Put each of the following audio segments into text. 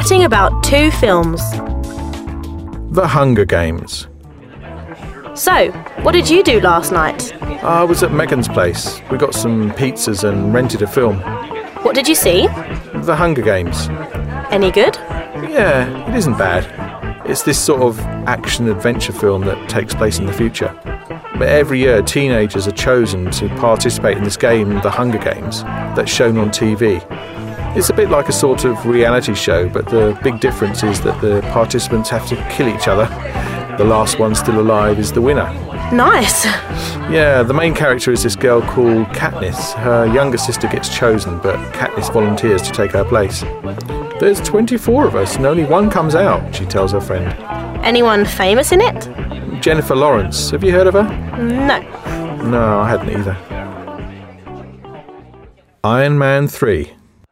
chatting about 2 films. The Hunger Games. So, what did you do last night? I was at Megan's place. We got some pizzas and rented a film. What did you see? The Hunger Games. Any good? Yeah, it isn't bad. It's this sort of action-adventure film that takes place in the future. But every year, teenagers are chosen to participate in this game, The Hunger Games, that's shown on TV. It's a bit like a sort of reality show, but the big difference is that the participants have to kill each other. The last one still alive is the winner. Nice. Yeah, the main character is this girl called Katniss. Her younger sister gets chosen, but Katniss volunteers to take her place. There's 24 of us and only one comes out, she tells her friend. Anyone famous in it? Jennifer Lawrence. Have you heard of her? No. No, I hadn't either. Iron Man 3.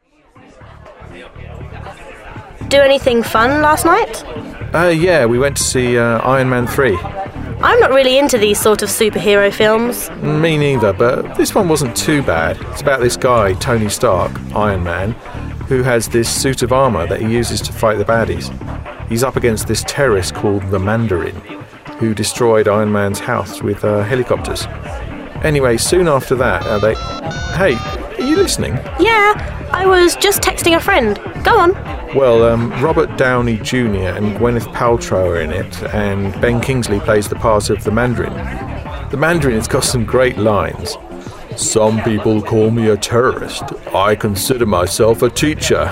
Do anything fun last night? Yeah, we went to see Iron Man 3. I'm not really into these sort of superhero films. Me neither, but this one wasn't too bad. It's about this guy, Tony Stark, Iron Man, who has this suit of armour that he uses to fight the baddies. He's up against this terrorist called the Mandarin, who destroyed Iron Man's house with helicopters. Anyway, soon after that, they... Hey, are you listening? Yeah, I was just texting a friend. Go on. Well, Robert Downey Jr. and Gwyneth Paltrow are in it, and Ben Kingsley plays the part of the Mandarin. The Mandarin has got some great lines. Some people call me a terrorist. I consider myself a teacher.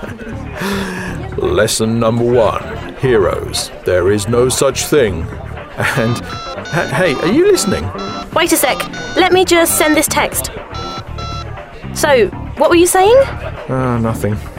Lesson number 1, heroes. There is no such thing. And, hey, are you listening? Wait a sec. Let me just send this text. So, what were you saying? Nothing.